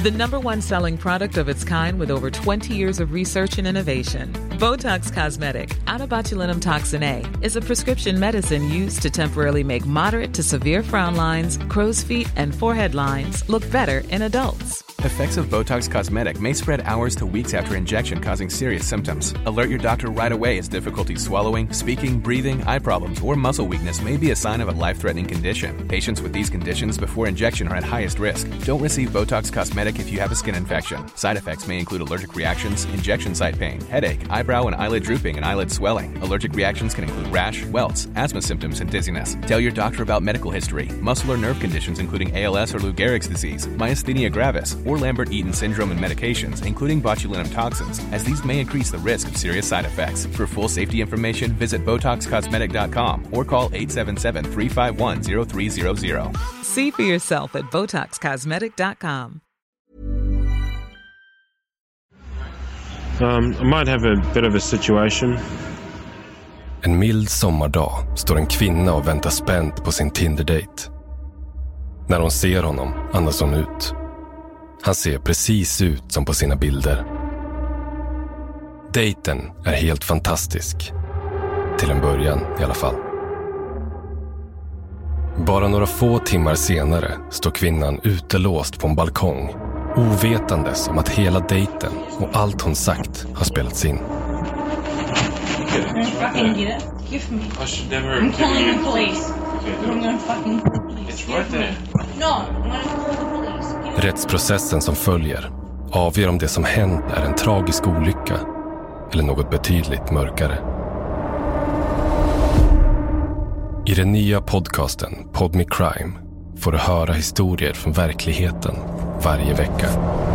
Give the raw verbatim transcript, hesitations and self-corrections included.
The number one selling product of its kind with over twenty years of research and innovation. Botox Cosmetic, out of botulinum toxin A, is a prescription medicine used to temporarily make moderate to severe frown lines, crow's feet, and forehead lines look better in adults. Effects of Botox Cosmetic may spread hours to weeks after injection, causing serious symptoms. Alert your doctor right away as difficulty swallowing, speaking, breathing, eye problems, or muscle weakness may be a sign of a life-threatening condition. Patients with these conditions before injection are at highest risk. Don't receive Botox Cosmetic if you have a skin infection. Side effects may include allergic reactions, injection site pain, headache, eyebrow and eyelid drooping, and eyelid swelling. Allergic reactions can include rash, welts, asthma symptoms, and dizziness. Tell your doctor about medical history, muscle or nerve conditions including A L S or Lou Gehrig's disease, myasthenia gravis, or Lambert-Eaton syndrome and medications, including botulinum toxins, as these may increase the risk of serious side effects. For full safety information, visit Botox Cosmetic dot com or call eight seven seven, three five one, zero three zero zero. See for yourself at Botox Cosmetic dot com. Um, I might have a bit of a situation. En mild sommardag står en kvinna och väntar spänt på sin Tinder-date. När hon ser honom andas hon ut. Han ser precis ut som på sina bilder. Dejten är helt fantastisk. Till en början i alla fall. Bara några få timmar senare står kvinnan utelåst på en balkong, ovetandes om att hela dejten och allt hon sagt har spelats in. I'm fucking get it. Give me. I should never. I'm calling the you. police. Okay, I'm gonna fucking call the police. It's Give right me. there. No, I'm gonna call the police. Give me. Rättsprocessen som följer avgör om det som hänt är en tragisk olycka eller något betydligt mörkare. I den nya podcasten Pod Me Crime får du höra historier från verkligheten varje vecka.